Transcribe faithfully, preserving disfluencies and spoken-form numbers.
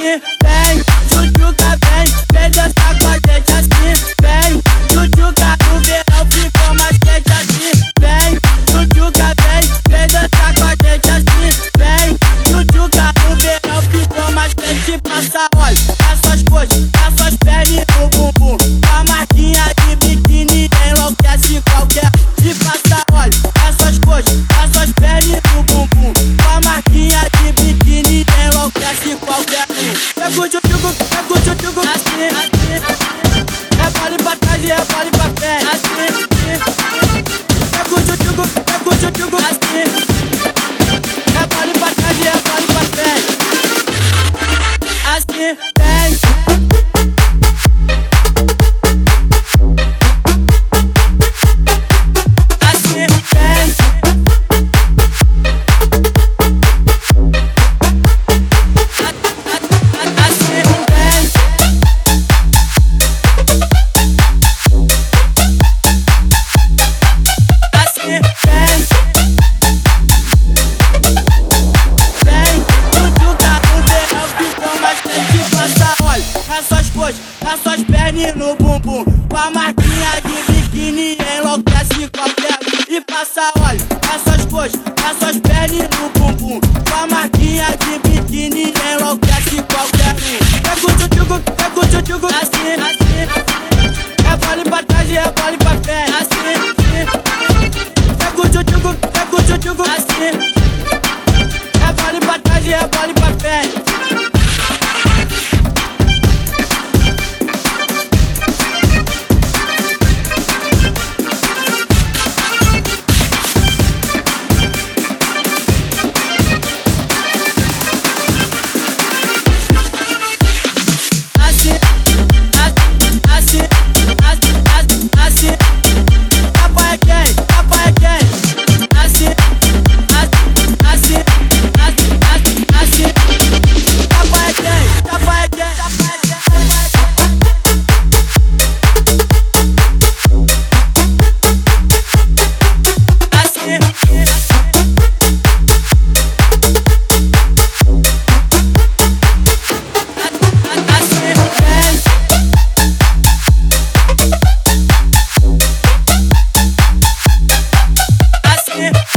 assim, vem, tchutchuca, vem, vem dançar com a gente assim, vem, tchutchuca, no verão ficou mais quente assim, vem, tchutchuca, vem, vem dançar com a gente assim, vem, tchutchuca, no verão ficou mais quente. Passa óleo, essas coisas, essas peles no bumbum, com a marquinha de biquíni enlouquece qualquer. E passa óleo, essas coisas, essas peles no bumbum, com a marquinha de biquíni enlouquece qualquer um. Pega o tchutchuco, pega o tchutchuco assim, assim, rebole pra trás e rebole pra frente assim. Pega o tchutchuco, pega o tchutchuco assim, rebole pra trás e rebole pra frente assim, vem. Essas coisas, essas pernas no bumbum, com a marquinha de biquíni enlouquece qualquer. E passa óleo, essas coisas, essas pernas no bumbum, com a marquinha de biquíni enlouquece qualquer um. Pega o tchutchuco, pega o tchutchuco assim, assim, rebole pra trás e rebole pra frente assim. Pega o tchutchuco, pega o tchutchuco assim, rebole pra trás e rebole pra frente. Yeah.